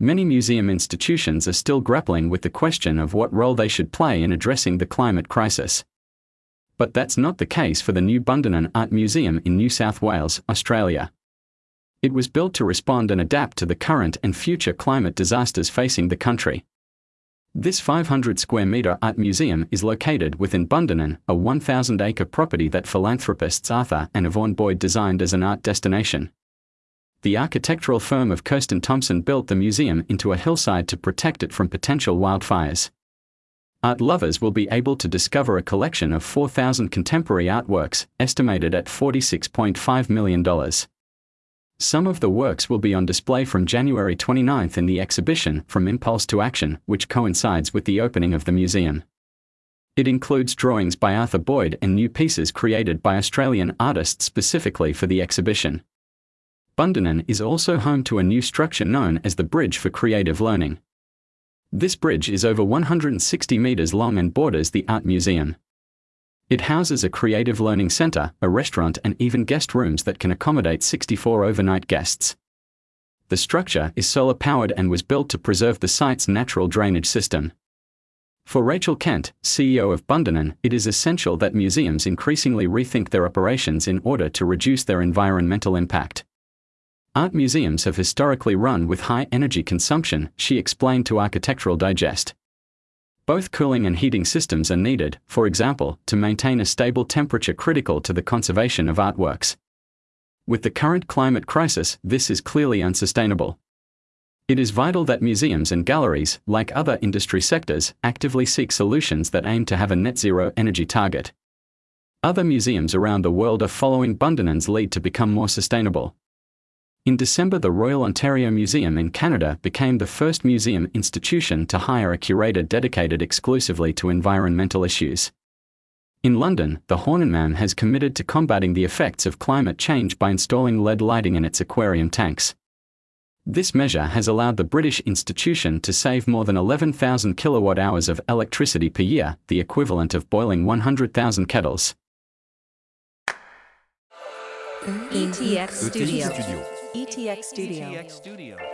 Many museum institutions are still grappling with the question of what role they should play in addressing the climate crisis. But that's not the case for the new Bundanon Art Museum in New South Wales, Australia. It was built to respond and adapt to the current and future climate disasters facing the country. This 500 square metre art museum is located within Bundanon, a 1,000-acre property that philanthropists Arthur and Yvonne Boyd designed as an art destination. The architectural firm of Kirsten Thompson built the museum into a hillside to protect it from potential wildfires. Art lovers will be able to discover a collection of 4,000 contemporary artworks, estimated at $46.5 million. Some of the works will be on display from January 29 in the exhibition From Impulse to Action, which coincides with the opening of the museum. It includes drawings by Arthur Boyd and new pieces created by Australian artists specifically for the exhibition. Bundanon is also home to a new structure known as the Bridge for Creative Learning. This bridge is over 160 metres long and borders the art museum. It houses a creative learning centre, a restaurant and even guest rooms that can accommodate 64 overnight guests. The structure is solar-powered and was built to preserve the site's natural drainage system. For Rachel Kent, CEO of Bundanon, it is essential that museums increasingly rethink their operations in order to reduce their environmental impact. Art museums have historically run with high energy consumption, she explained to Architectural Digest. Both cooling and heating systems are needed, for example, to maintain a stable temperature critical to the conservation of artworks. With the current climate crisis, this is clearly unsustainable. It is vital that museums and galleries, like other industry sectors, actively seek solutions that aim to have a net-zero energy target. Other museums around the world are following Bundanon's lead to become more sustainable. In December, the Royal Ontario Museum in Canada became the first museum institution to hire a curator dedicated exclusively to environmental issues. In London, the Horniman has committed to combating the effects of climate change by installing LED lighting in its aquarium tanks. This measure has allowed the British institution to save more than 11,000 kilowatt-hours of electricity per year, the equivalent of boiling 100,000 kettles. ETX Studio. ETX Studio.